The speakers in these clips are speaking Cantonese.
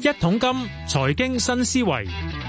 一桶金財經新思維，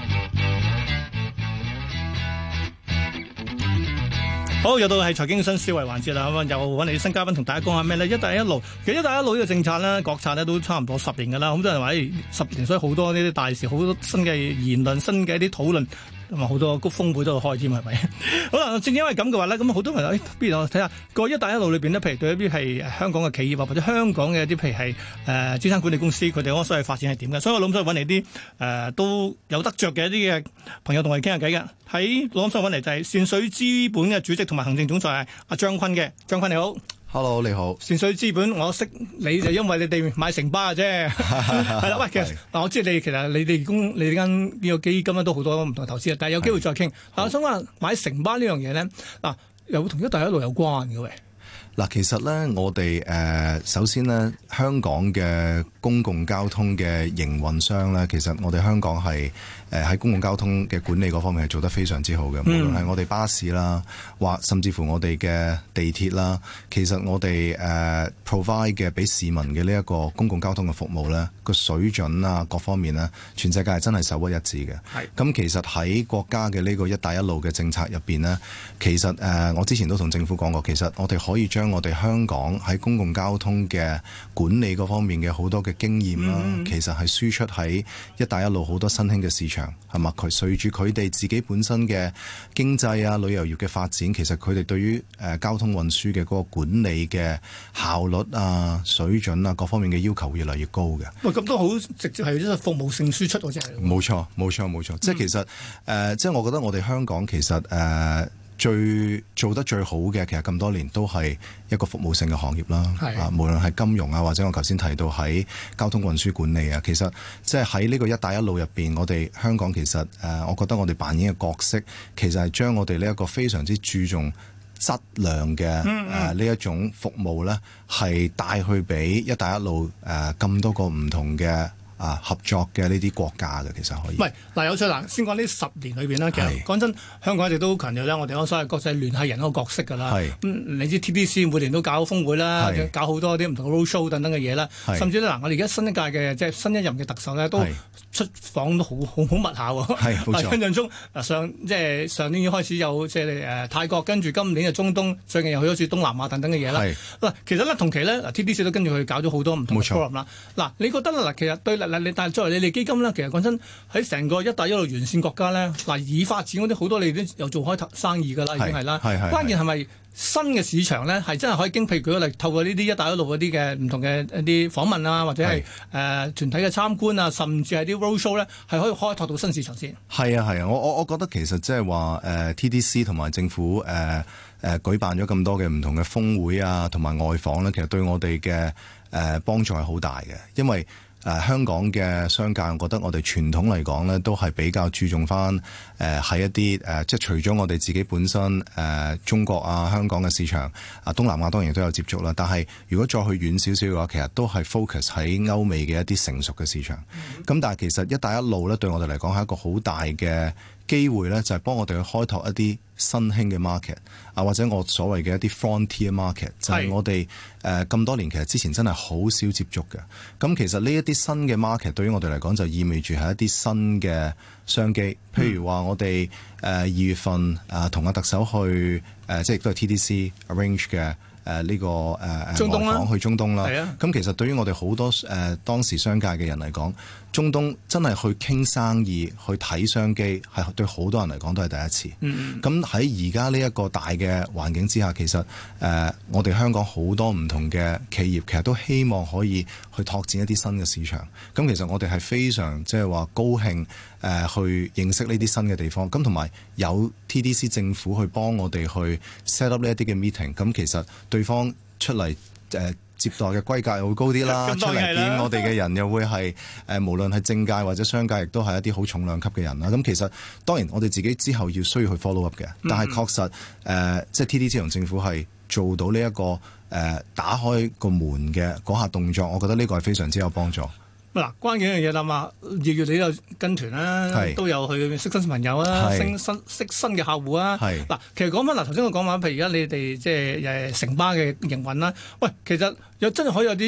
好，又到係財經新思維環節啦，咁啊又揾嚟啲新嘉賓同大家講下咩咧？一帶一路，其實一帶一路呢個政策咧，國策咧都差唔多10年噶啦，咁多人話10年，所以好多呢啲大事，好多新嘅言論、新嘅一啲討論。咁啊，好多峰會都有開添，係咪？好啦，正因為咁嘅話咧，咁好多人不如我睇下個一帶一路裏邊呢，譬如對一啲係香港嘅企業啊，或者香港嘅一啲譬如係資產管理公司，佢哋嗰個所謂發展係點嘅？所以我諗想揾嚟啲都有得着嘅一啲嘅朋友同我哋傾下偈嘅。喺我諗想揾嚟就係善水資本嘅主席同埋行政總裁阿張坤嘅。張坤你好。 Hello， 你好。 善水資本我識你就因為你哋買城巴嘅啫，係啦。喂，其實嗱，我知你其實你哋間呢個基金咧都好多唔同投資啊，但係有機會再傾。嗱，我想話買城巴呢樣嘢咧，嗱又同一帶一路有關嘅喂。 嗱，其實咧，我哋首先咧，香港嘅公共交通嘅營運商咧，其實我哋香港係喺公共交通嘅管理嗰方面係做得非常之好嘅。無論係我哋巴士啦，或甚至乎我哋嘅地鐵啦，其實我哋provide 嘅俾市民嘅呢一個公共交通嘅服務咧，個水準啊各方面咧，全世界係真係首屈一指嘅。咁其實喺國家嘅呢個一帶一路嘅政策入邊呢，其實我之前都同政府講過，其實我哋可以將我哋香港喺公共交通嘅管理嗰方面嘅好多嘅經驗啦，其實係輸出喺一帶一路好多新興嘅市場，係嘛？佢隨住佢哋自己本身嘅經濟啊、旅遊業嘅發展，其實佢哋對於交通運輸嘅嗰個管理嘅效率啊、水準啊各方面嘅要求越嚟越高嘅。 喂，咁都好直接係一個服務性輸出喎，真係。冇錯， 冇錯，冇錯。即係其實即係我覺得我哋香港其實做得最好嘅，其實咁多年都係一個服務性嘅行業啦。無論係金融啊，或者我頭先提到喺交通運輸管理啊，其實即係喺呢個一帶一路入邊，我哋香港其實我覺得我哋扮演嘅角色，其實係將我哋呢一個非常之注重質量嘅呢一種服務咧，係帶去俾一帶一路咁多個唔同嘅合作嘅呢啲國家嘅，其實可以。唔係嗱，有趣嗱，先講呢10年裏邊啦。其實講真，香港一直都強調咧，我哋嗰所謂國際聯繫人嗰個角色㗎啦。你知 TDC 每年都搞峰會啦，搞好多啲唔同嘅 roadshow 等等嘅嘢啦。甚至咧嗱，我哋而家新一屆嘅即係新一任嘅特首咧，都出訪都好密下喎。冇錯。印象中上年已經開始有即係泰國，跟住今年嘅中東，最近又去咗次東南亞等等嘅嘢啦。嗱，其實咧同期咧TDC 都跟住佢搞咗好多唔同嘅 forum 啦。嗱，你覺得嗱，其實對但係作為你哋基金咧，其實講真喺成個一帶一路沿線國家咧，嗱已發展嗰啲好多你都有做開生意㗎啦，已經係啦。關鍵係咪新嘅市場咧，係真係可以譬如舉個例，透過呢啲一帶一路嗰啲嘅唔同嘅一啲訪問啊，或者係團體嘅參觀啊，甚至係啲 roadshow 咧，係可以開拓到新市場先。係啊，我覺得其實即係話TDC 同埋政府舉辦咗咁多嘅唔同嘅峰會啊，同埋外訪咧，其實對我哋嘅幫助係好大嘅，因為香港嘅商界，我覺得我哋傳統嚟講咧，都係比較注重翻喺一啲即係除咗我哋自己本身中國啊、香港嘅市場啊、東南亞當然都有接觸啦。但係如果再去遠少少嘅話，其實都係 focus 喺歐美嘅一啲成熟嘅市場。咁但係其實一帶一路咧，對我哋嚟講係一個好大嘅機會咧，就係幫我哋去開拓一啲新興嘅 market 啊，或者我所謂嘅一啲 frontier market，就係我哋咁多年其實之前真係好少接觸嘅。咁其實呢一啲新嘅 market 對於我哋嚟講就意味住係一啲新嘅商機。譬如話我哋2月份同阿特首去即係亦都係 TDC arrange 嘅。呢個中東啦， 外訪去中東啦。咁其實對於我哋好多當時商界嘅人嚟講，中東真係去傾生意、去睇商機，係對好多人嚟講都係第一次。咁喺而家呢一個大嘅環境之下，其實我哋香港好多唔同嘅企業，其實都希望可以去拓展一啲新嘅市場。咁其實我哋係非常即係話高興去認識呢啲新嘅地方。咁同埋有 TDC 政府去幫我哋去 set up 呢一啲嘅 meeting。咁其實對方出嚟接待嘅規格又會高啲啦，出嚟見我哋嘅人又會係無論係政界或者商界，亦都係一啲好重量級嘅人啦。咁其實當然我哋自己之後要需要去 follow up 嘅，但係確實即係 TDC 同政府係做到呢一個打開個門嘅嗰下動作，我覺得呢個係非常之有幫助。 嗱，關鍵一樣嘢啦嘛，2月你又跟團啦，都有去識新朋友啦，識新嘅客戶啊。嗱，其實講翻頭先我講話，譬如而家你哋即係城巴嘅營運啦，喂，其實又真係可以有啲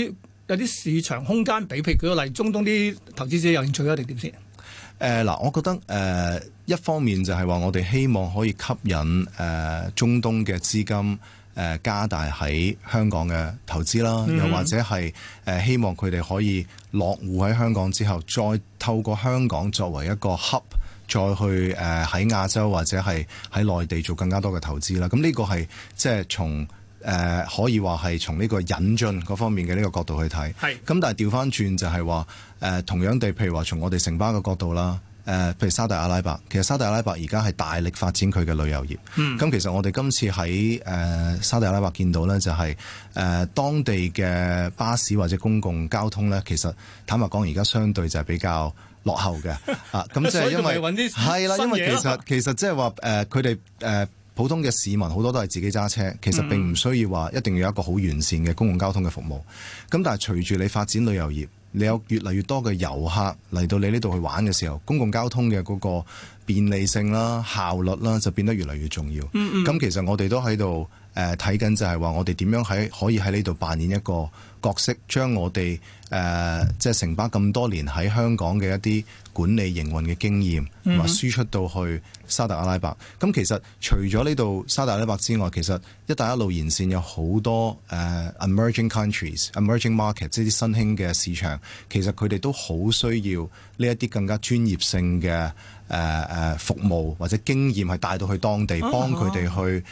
有啲市場空間俾，譬如舉個例，中東啲投資者有興趣一定點先？ 我覺得一方面就係話我哋希望可以吸引中東嘅資金加大喺香港嘅投資啦，又或者係希望佢哋可以落戶喺香港之後，再透過香港作為一個 hub，再去喺亞洲或者係喺內地做更加多嘅投資啦。咁呢個係即係從可以話係從呢個引進嗰方面嘅呢個角度去睇。係。咁但係調翻轉就係話同樣地，譬如話從我哋城巴嘅角度啦。譬如沙特阿拉伯，其實沙特阿拉伯而家係大力發展佢嘅旅遊業。咁其實我哋今次喺沙特阿拉伯見到咧，就係當地嘅巴士或者公共交通咧，其實坦白講而家相對就係比較落後嘅。咁即係因為係啦，因為其實即係話佢哋普通嘅市民好多都係自己揸車，其實並唔需要話一定要有一個好完善嘅公共交通嘅服務。咁但係隨住你發展旅遊業，你有越嚟越多嘅遊客嚟到你呢度去玩嘅時候，公共交通嘅嗰個便利性啦、效率啦，就變得越嚟越重要。咁其實我哋都喺度睇緊，就係話我哋點樣可以喺呢度扮演一個角色，將我哋即係城巴咁多年喺香港嘅一啲管理營運嘅經驗，同埋輸出到去沙特阿拉伯。咁其實除咗呢度沙特阿拉伯之外，其實一帶一路沿線有好多emerging countries、emerging market， 即係啲新興嘅市場，其實佢哋都好需要呢一啲更加專業性嘅服務或者經驗，係帶到去當地，幫佢哋去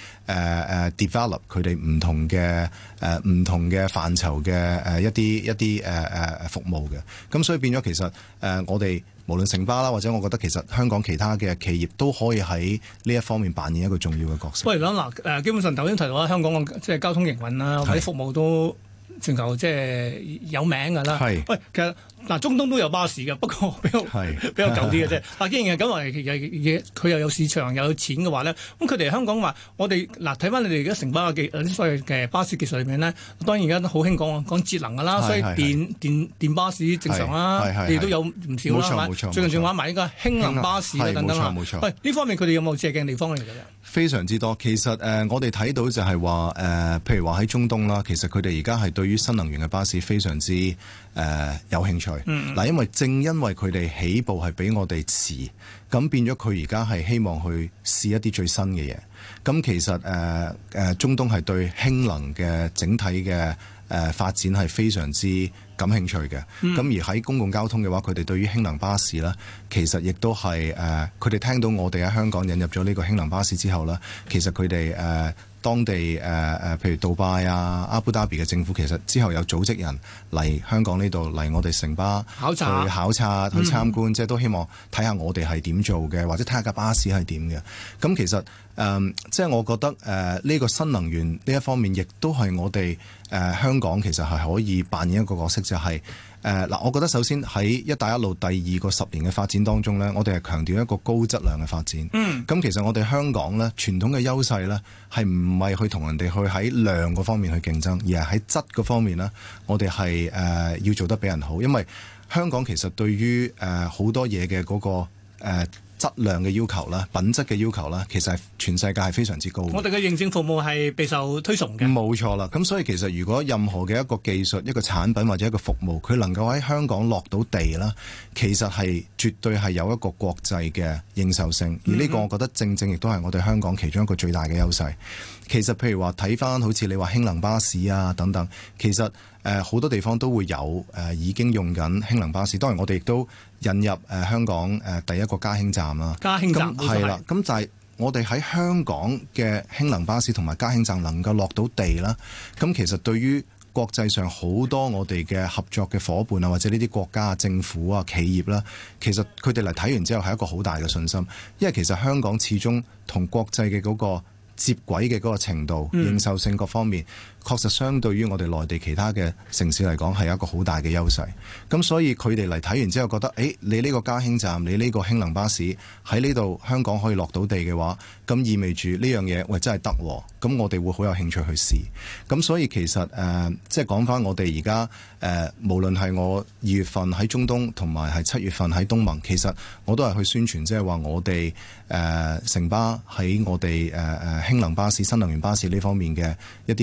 develop 佢哋唔同嘅範疇嘅一啲服務嘅。咁所以變咗其實我哋無論城巴啦，或者我覺得其實香港其他嘅企業都可以喺呢一方面扮演一個重要嘅角色。 不如講嗱，基本上頭先提到啦，香港嘅即係交通營運啦，或者服務都全球即係有名㗎啦。係。喂，其實嗱，中東都有巴士嘅，不過比較舊啲嘅啫。嗱，既然係咁話，佢又有市場又有錢嘅話咧，咁佢哋香港話，我哋嗱睇翻你哋而家城巴嘅所謂嘅巴士技術裏面咧，當然而家都好興講節能㗎啦，所以電巴士正常啦，你哋都有唔少啦，係咪？最近仲玩埋呢個氫能巴士等等啦。冇錯。喂，呢方面佢哋有冇借鏡地方嚟㗎？ 非常之多。其實我哋睇到就係話譬如話喺中東啦，其實佢哋而家係對於新能源嘅巴士非常之有興趣。嗱，因為正因為佢哋起步係比我哋遲，咁變咗佢而家係希望去試一啲最新嘅嘢。咁其實中東係對氫能嘅整體嘅發展係非常之感興趣嘅。咁而喺公共交通嘅話，佢哋對於氫能巴士啦，其實亦都係佢哋聽到我哋喺香港引入咗呢個氫能巴士之後啦，其實佢哋當地譬如杜拜啊、阿布達比嘅政府，其實之後有組織人嚟香港呢度嚟我哋城巴去考察、去參觀，即係都希望睇下我哋係點做嘅，或者睇下架巴士係點嘅。咁其實即係我覺得呢個新能源呢一方面，亦都係我哋香港其實係可以扮演一個角色，就係嗱，我覺得首先喺一帶一路第二個10年嘅發展當中呢，我哋係強調一個高質量嘅發展。咁其實我哋香港呢，傳統嘅優勢呢，係唔係去同人哋去喺量嗰方面去競爭，而係喺質嗰方面呢，我哋係要做得比人好。因為香港其實對於好多嘢嘅嗰個質量嘅要求啦、品質嘅要求啦，其實係全世界係非常之高。我哋嘅認證服務係備受推崇嘅。 冇錯啦，咁所以其實如果任何嘅一個技術、一個產品或者一個服務，佢能夠喺香港落到地啦，其實係絕對係有一個國際嘅認受性。而呢個我覺得正正亦都係我哋香港其中一個最大嘅優勢。其實譬如話睇翻好似你話氫能巴士啊等等，其實好多地方都會有已經用緊氫能巴士。當然我哋亦都引入香港第一個加氫站啦。 加氫站係啦，咁就係我哋喺香港嘅氫能巴士同埋加氫站能夠落到地啦。咁其實對於國際上好多我哋嘅合作嘅伙伴啊，或者呢啲國家啊、政府啊、企業啦，其實佢哋嚟睇完之後係一個好大嘅信心，因為其實香港始終同國際嘅嗰個接軌嘅嗰個程度、認受性各方面，確實相對於我哋內地其他嘅城市嚟講係一個好大嘅優勢。咁所以佢哋嚟睇完之後覺得，你呢個加氫站，你呢個氫能巴士喺呢度香港可以落到地嘅話，咁意味住呢樣嘢，喂，真係得喎。咁我哋會好有興趣去試。咁所以其實即係講翻我哋而家無論係我2月份喺中東同埋係7月份喺東盟，其實我都係去宣傳，即係話我哋城巴喺我哋氫能巴士、新能源巴士呢方面嘅一啲經驗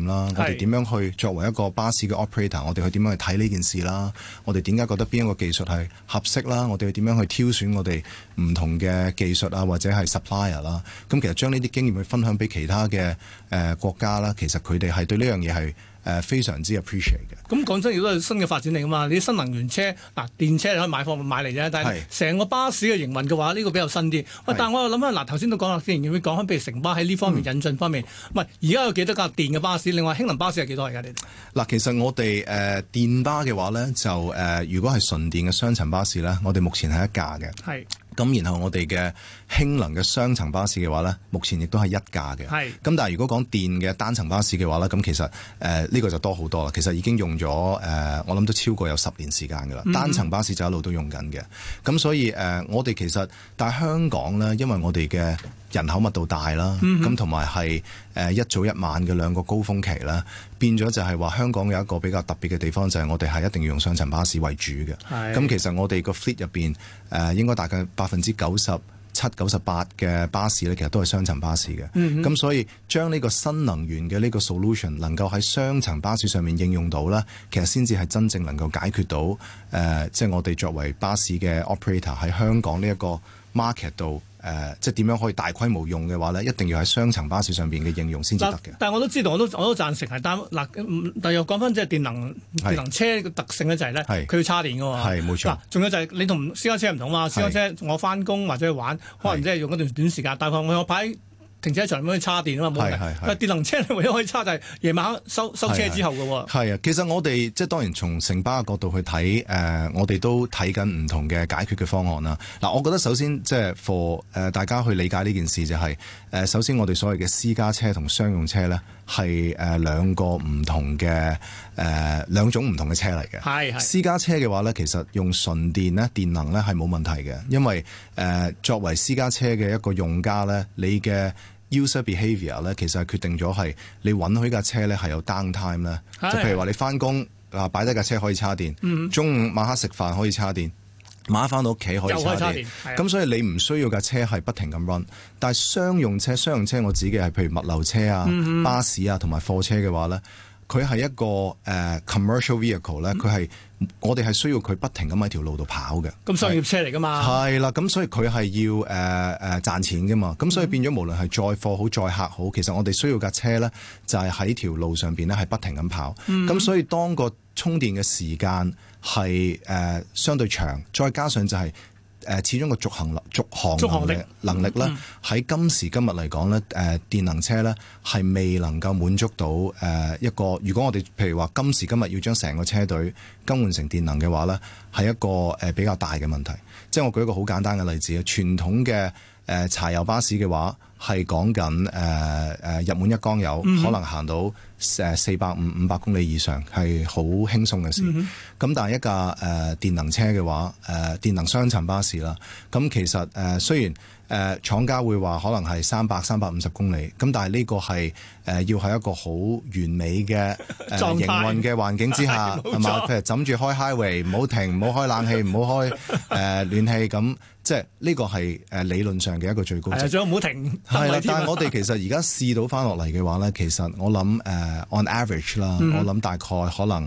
念啦，我哋點樣去作為一個巴士嘅 operator， 我哋去點樣去睇呢件事啦，我哋點解覺得邊一個技術係合適啦，我哋點樣去挑選我哋唔同嘅技術啊，或者係 supplier 啦，咁其實將呢啲經驗去分享俾其他嘅國家啦，其實佢哋係對呢樣嘢係非常之 appreciate 嘅。 咁講真，亦都係新嘅發展嚟噶嘛？你啲新能源車嗱，電車你可以買嚟啫，但係成個巴士嘅營運嘅話，呢個比較新啲。喂，但係我又諗翻嗱，頭先都講啦，既然會講翻，譬如城巴喺呢方面引進方面，唔係而家有幾多架電嘅巴士？另外氫能巴士係幾多而家？你哋嗱，其實我哋電巴嘅話咧，就如果係純電嘅雙層巴士咧，我哋目前係一架嘅。係。咁然後我哋嘅氫能嘅雙層巴士嘅話咧，目前亦都係一架嘅。係。咁但係如果講電嘅單層巴士嘅話咧，咁其實呢個就多好多啦。其實已經用咗我諗都超過有10年時間㗎啦。單層巴士就一路都用緊嘅。咁所以我哋其實但係香港咧，因為我哋嘅人口密度大啦，咁同埋係一早一晚嘅兩個高峰期啦，變咗就係話香港有一個比較特別嘅地方，就係我哋係一定要用雙層巴士為主嘅。咁其實我哋個 fleet 入邊應該大概97%、98%嘅巴士咧，其實都係雙層巴士嘅。咁所以將呢個新能源嘅呢個 solution 能夠喺雙層巴士上面應用到咧，其實先至係真正能夠解決到即係我哋作為巴士嘅 operator 喺香港呢一個 market 度。即係點樣可以大規模用嘅話咧，一定要喺雙層巴士上邊嘅應用先至得嘅。但係我都知道，我都贊成係，但又講翻即係電能車嘅特性咧，就係咧佢要叉電㗎喎。係冇錯。嗱，仲有就係你同私家車唔同嘛，私家車我翻工或者去玩，可能即係用一段短時間，但係我擺停車場咁樣叉電啊嘛，冇嘅。但係電能車你唯一可以叉就係夜晚收車之後嘅喎。係啊，其實我哋即係當然從城巴嘅角度去睇，我哋都睇緊唔同嘅解決嘅方案啦。嗱，我覺得首先即係 for 大家去理解呢件事就係首先我哋所謂嘅私家車同商用車咧係兩個唔同嘅兩種唔同嘅車嚟嘅。係私家車嘅話咧，其實用純電咧電能咧係冇問題嘅，因為作為私家車嘅一個用家咧，你嘅user behaviour 咧，其實係決定咗係你允許架車咧係有 downtime 咧，就譬如話你翻工擺低架車可以叉電，中午晚黑食飯可以叉電，晚黑翻到屋企可以叉電，咁所以你唔需要架車係不停咁 run。但係商用車我指嘅係譬如物流車啊、巴士啊同埋貨車嘅話咧，佢係一個commercial vehicle 咧，佢係我哋係需要佢不停咁喺條路度跑嘅。咁商業車嚟㗎嘛？係啦，咁所以佢係要賺錢㗎嘛。咁所以變咗無論係載貨好、載客好，其實我哋需要架車咧，就係喺條路上邊咧係不停咁跑。咁所以當個充電嘅時間係相對長，再加上就係始終個續航嘅能力咧，喺今時今日嚟講咧，電能車咧係未能夠滿足到一個。如果我哋譬如話今時今日要將成個車隊更換成電能嘅話咧，係一個比較大嘅問題。即係我舉一個好簡單嘅例子啊，傳統嘅柴油巴士嘅話係講緊入滿一缸油，可能行到450-500公里以上係好輕鬆嘅事。咁但係一架電能車嘅話，電能雙層巴士啦，咁其實雖然廠家會話可能係300-350公里，咁但係呢個係要喺一個好完美嘅營運嘅環境之下，係嘛？譬如枕住開 highway， 唔好停，唔好開冷氣，唔好開暖氣咁。即係呢個係理論上嘅一個最高值。係啊，最好唔好停。係啦，但係我哋其實而家試到翻落嚟嘅話咧，其實我諗on average 啦，我諗大概可能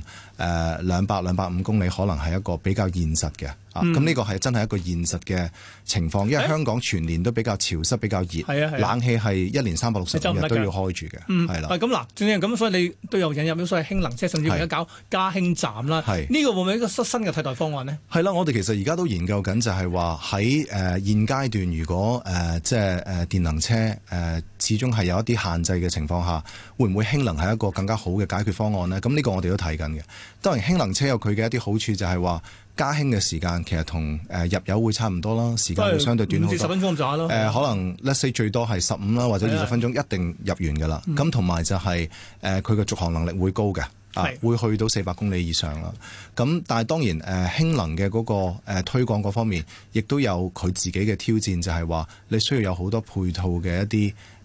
200-250公里，可能係一個比較現實嘅。咁呢個係真係一個現實嘅情況，因為香港全年都比較潮濕、比較熱，冷氣係1年365日都要開住嘅。係啦。咁嗱，正正咁，所以你都有引入咗所謂氫能車，甚至而家搞加氫站啦。係呢個會唔會一個新嘅替代方案呢？係啦，我哋其實而家都研究緊，就係話喺現階段，如果即係電能車始終係有一啲限制嘅情況下，會唔會氫能係一個更加好嘅解決方案呢？咁呢個我哋都睇緊嘅。當然氫能車有佢嘅一啲好處，就係話加氫嘅時間其實同入油會差唔多啦，時間會相對短好多。5至10分鐘咁上下咯。可能 let's say 最多係15啦，或者20分鐘一定入完㗎啦。咁同埋就係佢嘅續航能力會高嘅。會去到400公里以上啦。咁但係當然氫能嘅嗰個推廣嗰方面，亦都有佢自己嘅挑戰，就係話你需要有好多配套嘅一啲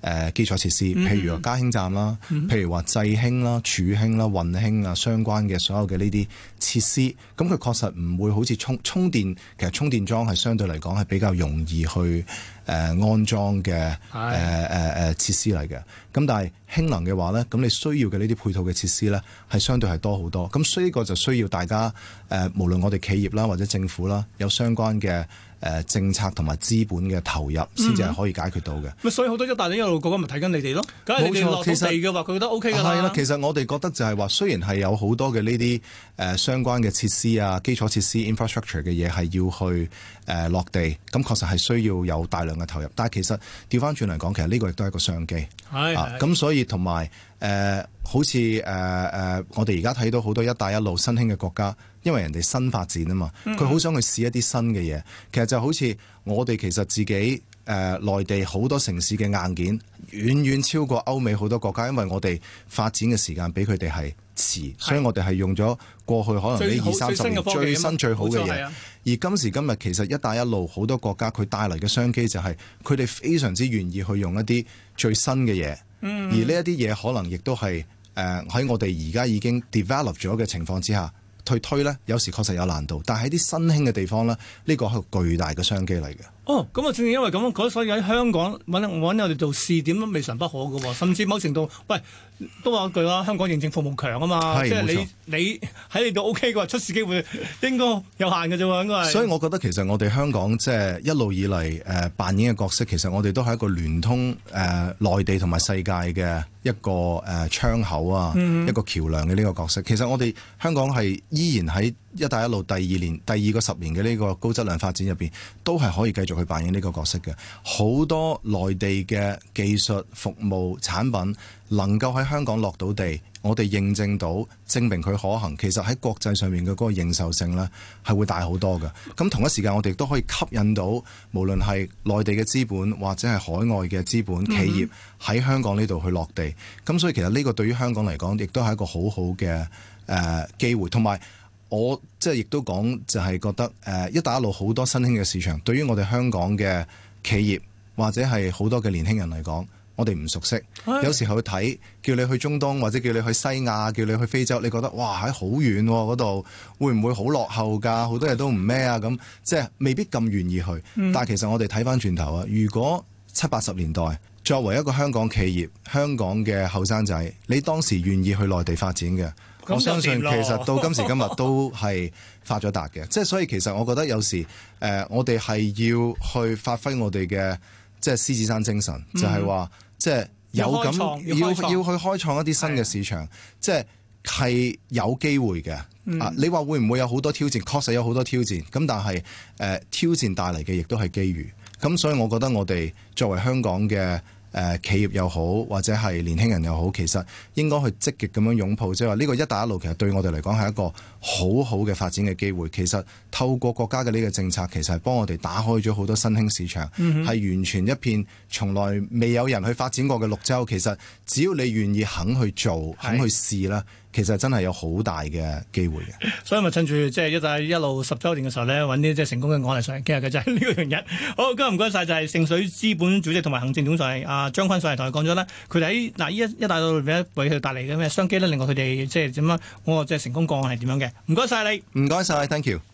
基礎設施，譬如話嘉興站啦，譬如話濟興啦、儲興啦、運興啊相關嘅所有嘅呢啲設施，咁佢確實唔會好似充電，其實充電樁係相對嚟講係比較容易去安裝嘅設施嚟嘅。咁但係氫能嘅話咧，咁你需要嘅呢啲配套嘅設施咧係相對係多好多。咁所以呢個就需要大家無論我哋企業啦或者政府啦，有相關嘅政策同埋資本嘅投入，先至係可以解決到嘅。 所以好多一帶一路國家咪睇緊你哋咯。梗係你哋落到地嘅話，佢覺得 OK 㗎啦。 係啦，其實我哋覺得就係話，雖然係有好多嘅呢啲相關嘅設施啊、基礎設施 infrastructure 嘅嘢係要去落地，咁確實係需要有大量嘅投入。但係其實調翻轉嚟講，其實呢個亦都係一個商機。咁所以同埋好似我哋而家睇到好多一帶一路新興嘅國家，因為人哋新發展啊嘛，佢好想去試一啲新嘅嘢。其實就好似我哋其實自己內地好多城市嘅硬件遠遠超過歐美好多國家，因為我哋發展嘅時間比佢哋係遲，所以我哋係用咗過去可能呢20-30年最新最好嘅嘢。而今時今日其實一帶一路好多國家佢帶嚟嘅商機就係佢哋非常之願意去用一啲最新嘅嘢，而呢一啲嘢可能亦都係喺我哋而家已經 develop 咗嘅情況之下去推呢，有時確實有難度，但係喺啲新興嘅地方呢，呢個係個巨大嘅商機嚟嘅。 咁啊，正正因為咁，所以喺香港揾我哋做試點都未嘗不可嘅喎，甚至某程度，喂，都話一句啦，香港認證服務強啊嘛，即係你喺你度 OK 嘅話，出事機會應該有限嘅啫喎，應該係。所以我覺得其實我哋香港即係一路以嚟扮演嘅角色，其實我哋都係一個聯通內地同埋世界嘅一個窗口啊，一個橋梁嘅呢個角色。其實我哋香港係依然喺一帶一路第二個10年嘅呢個高質量發展入邊，都係可以繼續去扮演呢個角色嘅。好多內地嘅技術服務產品能夠喺香港落到地，我哋認證到證明佢可行，其實喺國際上面嘅嗰個認受性呢係會大好多嘅。咁同一時間我哋都可以吸引到無論係內地嘅資本或者係海外嘅資本企業喺香港呢度去落地。咁所以其實呢個對於香港嚟講亦都係一個好好嘅機會。同埋我即係亦都講就係覺得一帶一路好多新興嘅市場，對於我哋香港嘅企業或者係好多嘅年輕人嚟講，我哋唔熟悉。有時候去睇，叫你去中東或者叫你去西亞，叫你去非洲，你覺得哇喺好遠嗰度，會唔會好落後㗎？好多嘢都唔咩啊咁，即係未必咁願意去。但係其實我哋睇翻轉頭啊，如果70-80年代作為一個香港企業、香港嘅後生仔，你當時願意去內地發展嘅，我相信其實到今時今日都係發咗達嘅。即係所以其實我覺得有時我哋係要去發揮我哋嘅即係獅子山精神，就係話即係有咁要去開創一啲新嘅市場，即係有機會嘅。你話會唔會有好多挑戰？確實有好多挑戰。咁但係挑戰帶嚟嘅亦都係機遇。咁所以我覺得我哋作為香港嘅企業又好，或者係年輕人又好，其實應該去積極咁樣擁抱，即係話呢個一帶一路其實對我哋嚟講係一個好好嘅發展嘅機會。其實透過國家嘅呢個政策，其實係幫我哋打開咗好多新興市場，係完全一片從來未有人去發展過嘅綠洲。其實只要你願意肯去做、肯去試啦，其實真係有好大嘅機會嘅。 所以咪趁住即係一帶一路10週年嘅時候咧，揾啲即係成功嘅案例上嚟傾下嘅就係呢個樣嘢。好，今日唔該晒，就係盛水資本主席同埋行政總裁張坤上嚟同佢講咗啦。佢哋喺嗱一帶一路裏邊為佢帶嚟嘅咩商機咧，令到佢哋即係點樣嗰個即係成功個案係點樣嘅。唔該晒你， 唔該晒 ，thank you。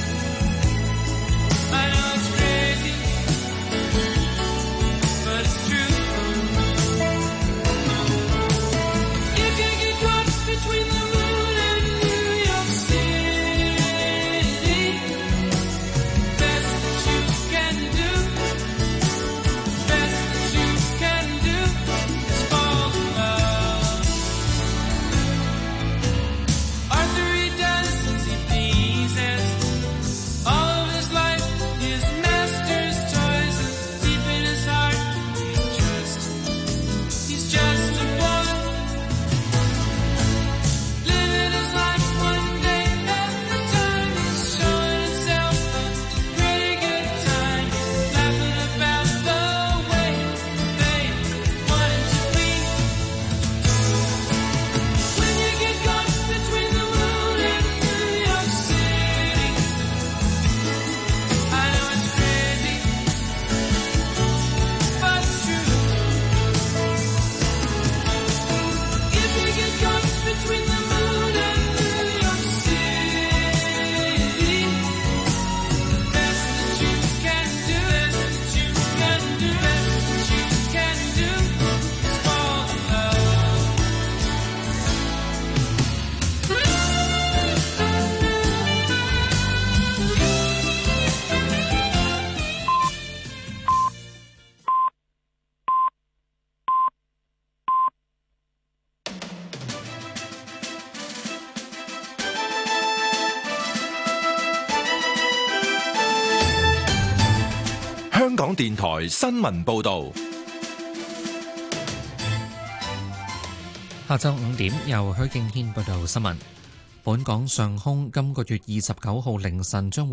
But it's true. 香港電台新聞報道。 下晝5點，由許敬軒報道新聞。本港上空今個月29號凌晨將會